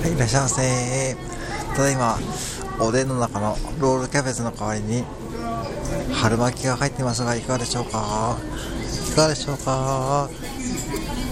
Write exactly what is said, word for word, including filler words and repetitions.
はい、いらっしゃいませ。ただいまおでんの中のロールキャベツの代わりに春巻きが入っていますが、いかがでしょうかいかがでしょうか。